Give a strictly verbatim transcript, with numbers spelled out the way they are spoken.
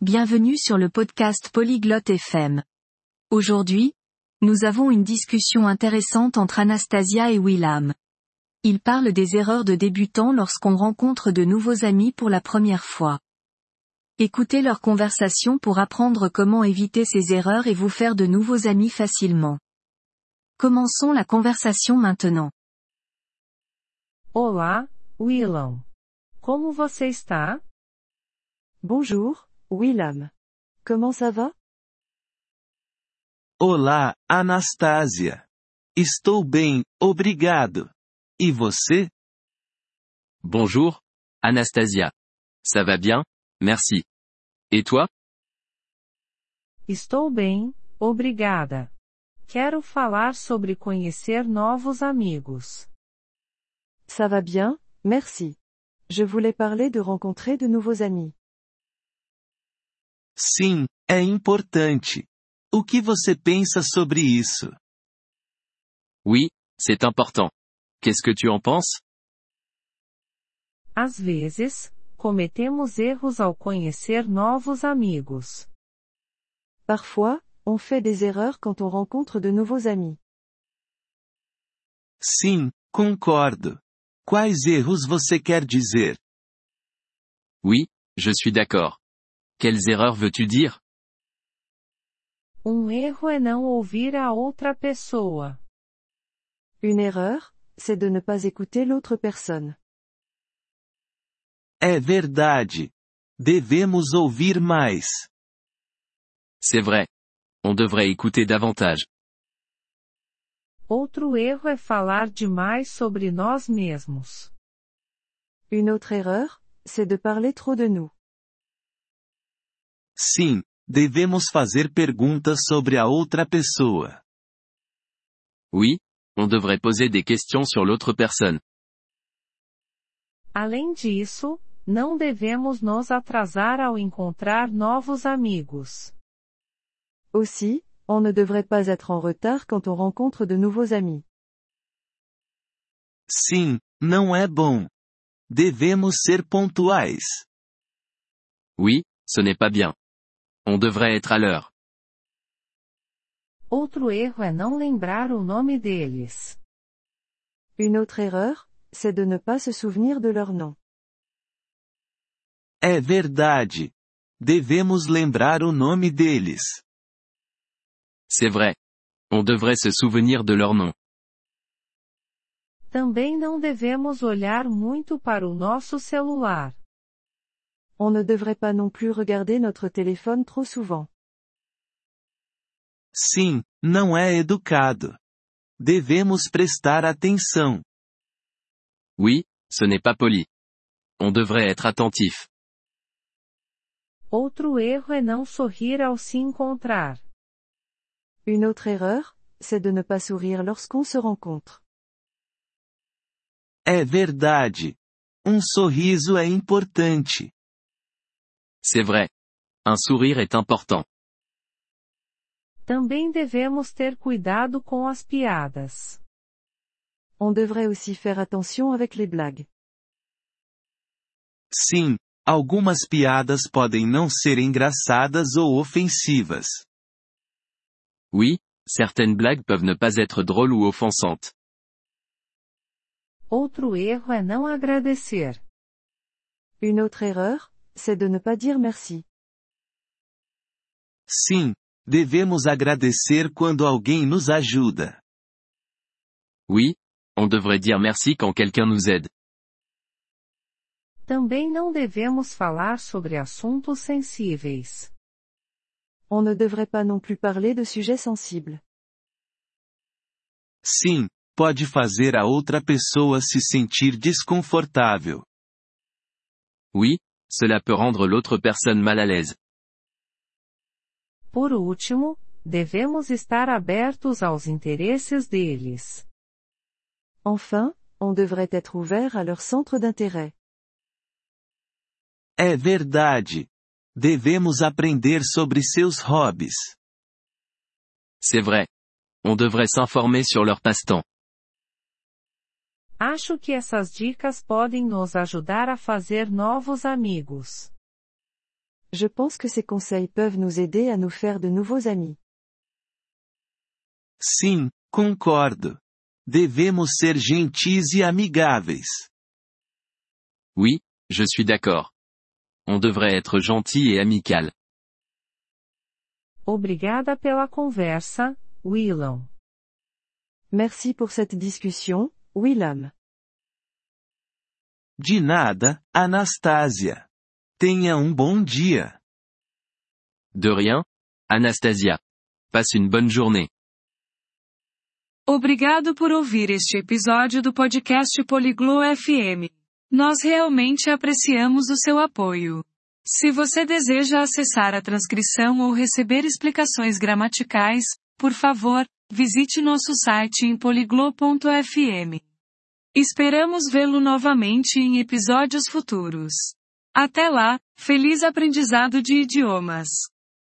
Bienvenue sur le podcast Polyglotte F M. Aujourd'hui, nous avons une discussion intéressante entre Anastasia et Willam. Ils parlent des erreurs de débutants lorsqu'on rencontre de nouveaux amis pour la première fois. Écoutez leur conversation pour apprendre comment éviter ces erreurs et vous faire de nouveaux amis facilement. Commençons la conversation maintenant. Olá, Willam. Como você está? Bonjour, Willam. Comment ça va? Olá, Anastasia. Estou bem, obrigado. E você? Bonjour, Anastasia. Ça va bien, merci. Et toi? Estou bem, obrigada. Quero falar sobre conhecer novos amigos. Ça va bien, merci. Je voulais parler de rencontrer de nouveaux amis. Sim, é importante. O que você pensa sobre isso? Oui, c'est important. Qu'est-ce que tu en penses? Às vezes, cometemos erros ao conhecer novos amigos. Parfois, on fait des erreurs quand on rencontre de nouveaux amis. Sim, concordo. Quais erros você quer dizer? Oui, je suis d'accord. Quelles erreurs veux-tu dire? Um erro é não ouvir a outra pessoa. Une erreur, c'est de ne pas écouter l'autre personne. É verdade. Devemos ouvir mais. C'est vrai. On devrait écouter davantage. Outro erro é falar demais sobre nós mesmos. Une autre erreur, c'est de parler trop de nous. Sim, devemos fazer perguntas sobre a outra pessoa. Oui, on devrait poser des questions sur l'autre personne. Além disso, não devemos nos atrasar ao encontrar novos amigos. Aussi, on ne devrait pas être en retard quand on rencontre de nouveaux amis. Sim, não é bom. Devemos ser pontuais. Oui, ce n'est pas bien. On devrait être à l'heure. Outro erro é não lembrar o nome deles. Une autre erreur, c'est de ne pas se souvenir de leur nom. É verdade. Devemos lembrar o nome deles. C'est vrai. On devrait se souvenir de leur nom. Também não devemos olhar muito para o nosso celular. On ne devrait pas non plus regarder notre téléphone trop souvent. Sim, não é educado. Devemos prestar atenção. Oui, ce n'est pas poli. On devrait être attentif. Outro erro é não sorrir ao se encontrar. Une autre erreur, c'est de ne pas sourire lorsqu'on se rencontre. É verdade. Um sorriso é importante. C'est vrai. Un sourire est important. Também devemos ter cuidado com as piadas. On devrait aussi faire attention avec les blagues. Sim, algumas piadas podem não ser engraçadas ou ofensivas. Oui, certaines blagues peuvent ne pas être drôles ou offensantes. Outro erro é não agradecer. Une autre erreur, c'est de ne pas dire merci. Sim, devemos agradecer quando alguém nos ajuda. Oui, on devrait dire merci quand quelqu'un nous aide. Também não devemos falar sobre assuntos sensíveis. On ne devrait pas non plus parler de sujets sensibles. Sim, pode fazer a outra pessoa se sentir desconfortável. Oui, cela peut rendre l'autre personne mal à l'aise. Por último, devemos estar abertos aos interesses deles. Enfin, on devrait être ouvert à leur centre d'intérêt. É verdade. Devemos aprender sobre seus hobbies. C'est vrai. On devrait s'informer sur leur passe-temps. Acho que essas dicas podem nos ajudar a fazer novos amigos. Je pense que ces conseils peuvent nous aider à nous faire de nouveaux amis. Sim, concordo. Devemos ser gentis e amigáveis. Oui, je suis d'accord. On devrait être gentil et amical. Obrigada pela conversa, Willam. Merci pour cette discussion, Willam. De nada, Anastasia. Tenha um bom dia. De rien, Anastasia. Passe une bonne journée. Obrigado por ouvir este episódio do podcast Poliglo F M. Nós realmente apreciamos o seu apoio. Se você deseja acessar a transcrição ou receber explicações gramaticais, por favor, visite nosso site em poliglo ponto f m. Esperamos vê-lo novamente em episódios futuros. Até lá, feliz aprendizado de idiomas!